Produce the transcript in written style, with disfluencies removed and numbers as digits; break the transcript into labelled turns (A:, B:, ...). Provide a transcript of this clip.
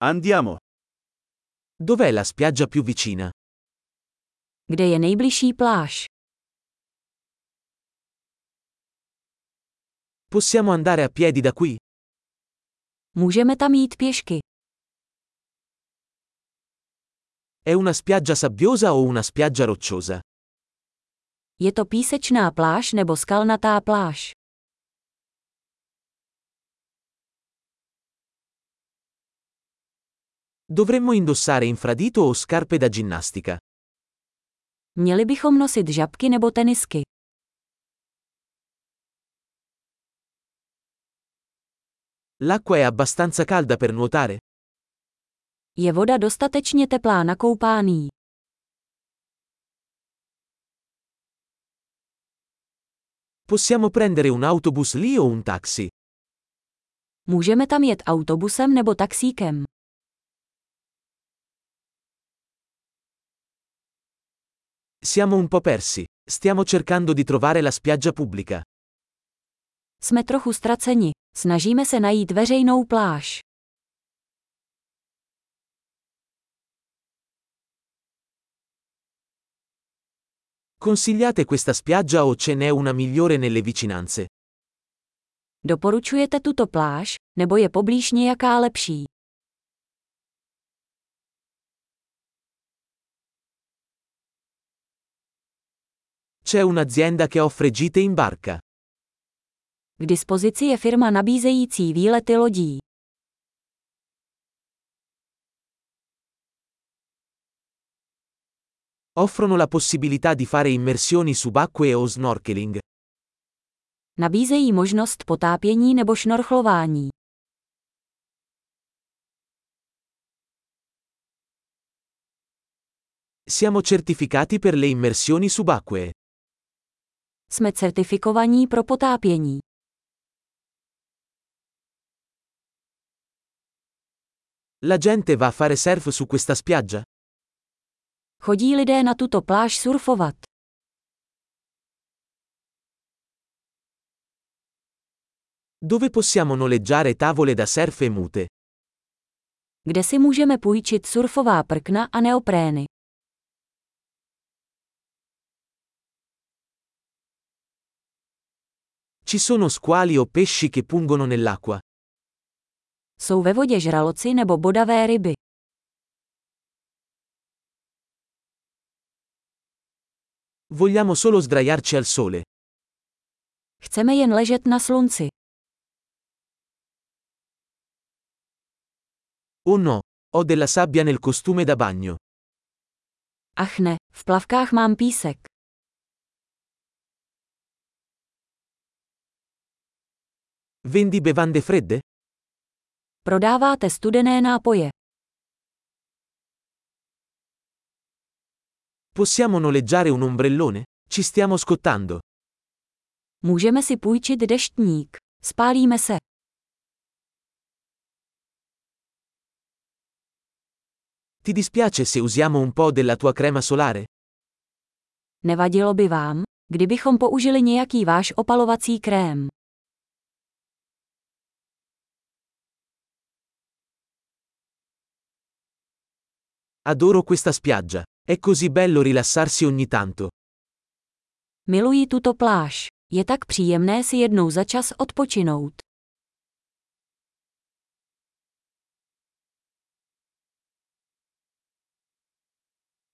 A: Andiamo.
B: Dov'è la spiaggia più vicina?
C: Kde je nejbližší pláž?
B: Possiamo andare a piedi da qui?
C: Můžeme tam jít pěšky.
B: È una spiaggia sabbiosa o una spiaggia rocciosa?
C: Je to písečná pláž nebo skalnatá pláž?
B: Dovremmo indossare infradito o scarpe da ginnastica?
C: Měli bychom nosit žabky nebo tenisky.
B: L'acqua è abbastanza calda per nuotare?
C: Je voda dostatečně teplá na koupání?
B: Possiamo prendere un autobus lì o un taxi?
C: Můžeme tam jet autobusem nebo taxíkem?
B: Siamo un po' persi. Stiamo cercando di trovare la spiaggia pubblica.
C: Jsme trochu ztraceni. Snažíme se najít veřejnou pláž.
B: Consigliate questa spiaggia o ce n'è una migliore nelle vicinanze?
C: Doporučujete tuto pláž, nebo je poblíž nějaká lepší?
B: C'è un'azienda che offre gite in barca.
C: K dispozici je firma nabízející výlety lodí.
B: Offrono la possibilità di fare immersioni subacquee o snorkeling.
C: Nabízejí možnost potápění nebo šnorchlování.
B: Siamo certificati per le immersioni subacquee.
C: Jsme certifikovaní pro potápění.
B: La gente va a fare surf su questa spiaggia?
C: Chodí lidé na tuto pláž surfovat.
B: Dove possiamo noleggiare tavole da surf e mute?
C: Kde si můžeme půjčit surfová prkna a neoprény?
B: Ci sono squali o pesci che pungono nell'acqua?
C: Jsou ve vodě žraloci nebo bodavé ryby?
B: Vogliamo solo sdraiarci al sole.
C: Chceme jen ležet na slunci.
B: Oh no, ho della sabbia nel costume da bagno.
C: Ach ne, v plavkách mám písek.
B: Vendi bevande fredde?
C: Prodáváte studené nápoje.
B: Possiamo noleggiare un ombrellone? Ci stiamo scottando.
C: Můžeme si půjčit deštník. Spálíme se.
B: Ti dispiace se usiamo un po' della tua crema solare?
C: Nevadilo by vám, kdybychom použili nějaký váš opalovací krém?
B: Adoro questa spiaggia. È così bello rilassarsi ogni tanto.
C: Miluji tuto pláž. Je tak příjemné si jednou za čas odpočinout.